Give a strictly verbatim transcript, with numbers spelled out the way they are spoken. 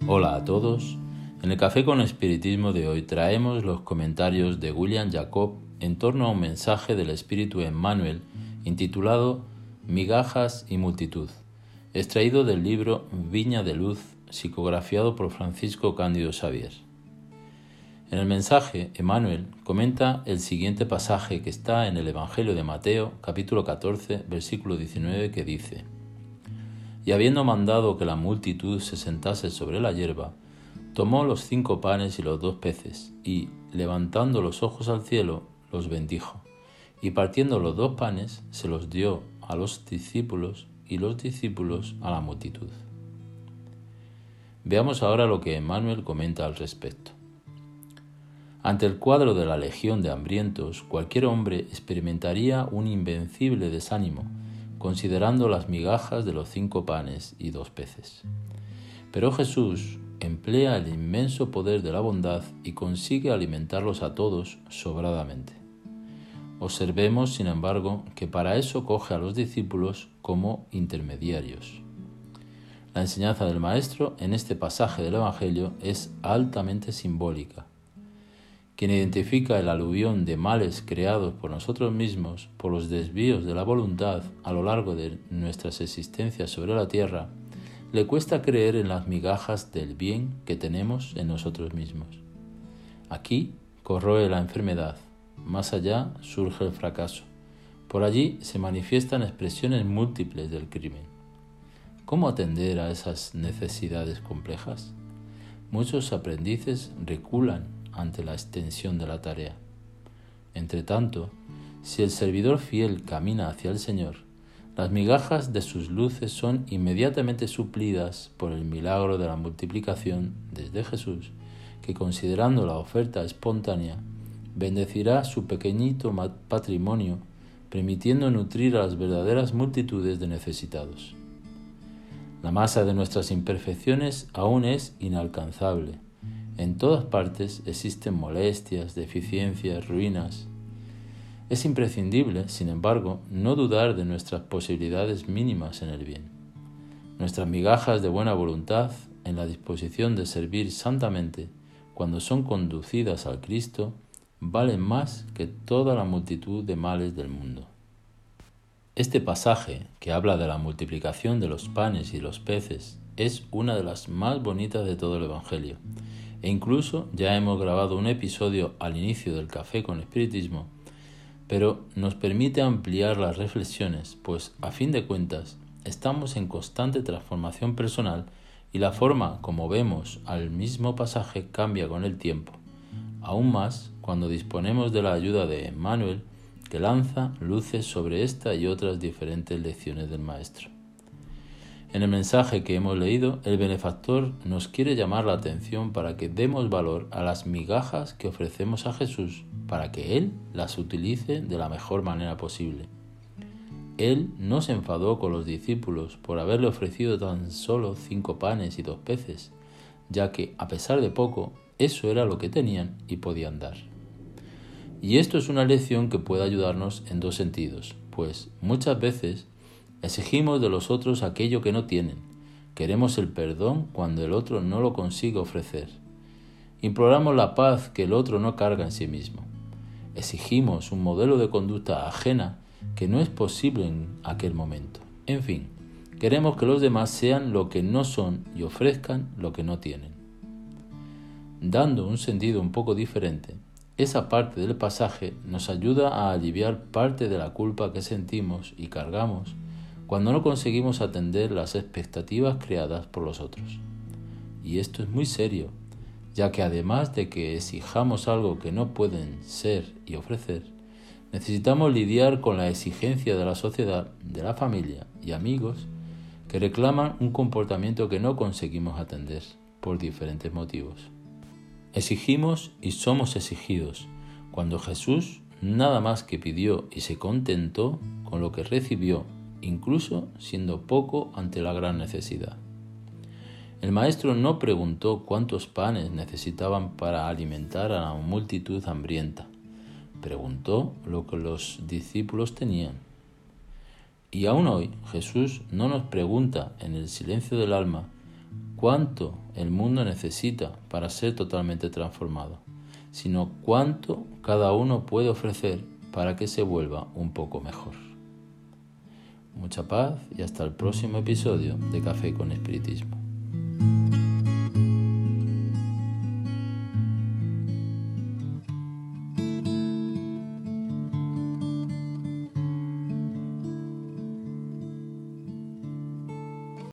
Hola a todos. En el Café con Espiritismo de hoy traemos los comentarios de William Jacob en torno a un mensaje del Espíritu Emmanuel intitulado Migajas y Multitud, extraído del libro Viña de Luz, psicografiado por Francisco Cándido Xavier. En el mensaje, Emmanuel comenta el siguiente pasaje que está en el Evangelio de Mateo, capítulo catorce, versículo diecinueve, que dice: Y habiendo mandado que la multitud se sentase sobre la hierba, tomó los cinco panes y los dos peces, y, levantando los ojos al cielo, los bendijo, y partiendo los dos panes, se los dio a los discípulos, y los discípulos a la multitud. Veamos ahora lo que Emmanuel comenta al respecto. Ante el cuadro de la legión de hambrientos, cualquier hombre experimentaría un invencible desánimo, considerando las migajas de los cinco panes y dos peces. Pero Jesús emplea el inmenso poder de la bondad y consigue alimentarlos a todos sobradamente. Observemos, sin embargo, que para eso coge a los discípulos como intermediarios. La enseñanza del Maestro en este pasaje del Evangelio es altamente simbólica. Quien identifica el aluvión de males creados por nosotros mismos, por los desvíos de la voluntad a lo largo de nuestras existencias sobre la tierra, le cuesta creer en las migajas del bien que tenemos en nosotros mismos. Aquí corroe la enfermedad, más allá surge el fracaso, por allí se manifiestan expresiones múltiples del crimen. ¿Cómo atender a esas necesidades complejas? Muchos aprendices reculan ante la extensión de la tarea. Entretanto, si el servidor fiel camina hacia el Señor, las migajas de sus luces son inmediatamente suplidas por el milagro de la multiplicación desde Jesús, que, considerando la oferta espontánea, bendecirá su pequeñito patrimonio, permitiendo nutrir a las verdaderas multitudes de necesitados. La masa de nuestras imperfecciones aún es inalcanzable. En todas partes existen molestias, deficiencias, ruinas. Es imprescindible, sin embargo, no dudar de nuestras posibilidades mínimas en el bien. Nuestras migajas de buena voluntad, en la disposición de servir santamente, cuando son conducidas al Cristo, valen más que toda la multitud de males del mundo. Este pasaje, que habla de la multiplicación de los panes y los peces, es una de las más bonitas de todo el Evangelio. E incluso ya hemos grabado un episodio al inicio del Café con Espiritismo, pero nos permite ampliar las reflexiones, pues a fin de cuentas estamos en constante transformación personal y la forma como vemos al mismo pasaje cambia con el tiempo, aún más cuando disponemos de la ayuda de Emmanuel, que lanza luces sobre esta y otras diferentes lecciones del Maestro. En el mensaje que hemos leído, el benefactor nos quiere llamar la atención para que demos valor a las migajas que ofrecemos a Jesús para que Él las utilice de la mejor manera posible. Él no se enfadó con los discípulos por haberle ofrecido tan solo cinco panes y dos peces, ya que, a pesar de poco, eso era lo que tenían y podían dar. Y esto es una lección que puede ayudarnos en dos sentidos, pues muchas veces exigimos de los otros aquello que no tienen. Queremos el perdón cuando el otro no lo consigue ofrecer. Imploramos la paz que el otro no carga en sí mismo. Exigimos un modelo de conducta ajena que no es posible en aquel momento. En fin, queremos que los demás sean lo que no son y ofrezcan lo que no tienen. Dando un sentido un poco diferente, esa parte del pasaje nos ayuda a aliviar parte de la culpa que sentimos y cargamos cuando no conseguimos atender las expectativas creadas por los otros. Y esto es muy serio, ya que además de que exijamos algo que no pueden ser y ofrecer, necesitamos lidiar con la exigencia de la sociedad, de la familia y amigos que reclaman un comportamiento que no conseguimos atender por diferentes motivos. Exigimos y somos exigidos, cuando Jesús nada más que pidió y se contentó con lo que recibió, incluso siendo poco ante la gran necesidad. El Maestro no preguntó cuántos panes necesitaban para alimentar a la multitud hambrienta. Preguntó lo que los discípulos tenían. Y aún hoy Jesús no nos pregunta en el silencio del alma cuánto el mundo necesita para ser totalmente transformado, sino cuánto cada uno puede ofrecer para que se vuelva un poco mejor. Mucha paz y hasta el próximo episodio de Café con Espiritismo.